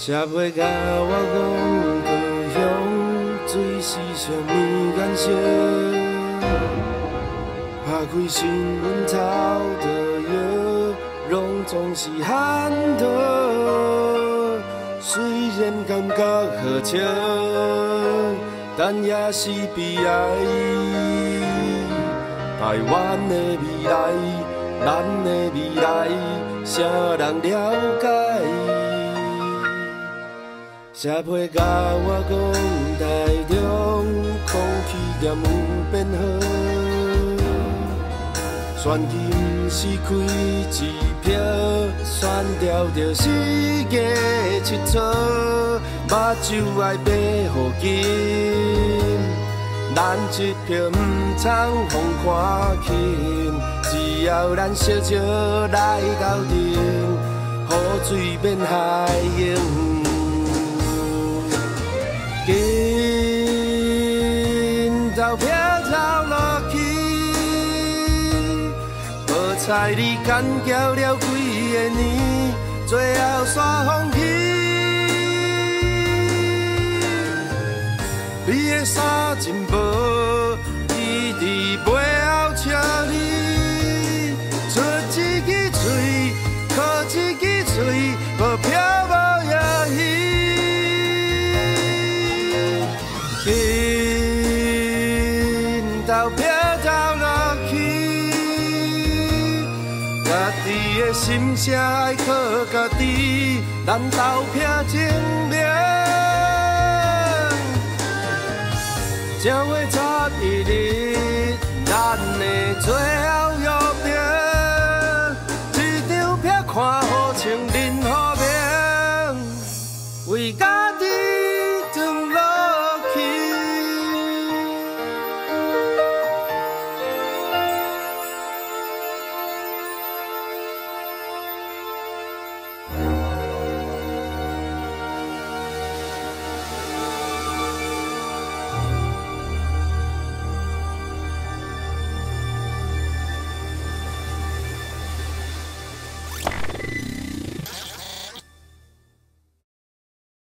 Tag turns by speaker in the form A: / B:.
A: 写袂甲我讲故乡，水是上面颜色。拍开新闻头的药，拢总是喊痛。虽然感觉好笑，但也是悲哀。台湾的未来，咱的未来，谁人了解？写批甲我讲，台中空气严有变好，选举是开支票，选调着4月7号，目睭爱爬好紧，咱一票不通互看轻，只要咱小笑来斗阵，雨水免害用。紧投票投落去，无彩你干交了几个年，最后煞放弃。你的衫真无，伊伫背后笑你，出一支嘴，靠一支嘴，无飘无野鱼。投票投落去，家己的心声爱靠家己，咱投票证明。正月31日，咱的最后约定，一张票看好穿任何名，为家。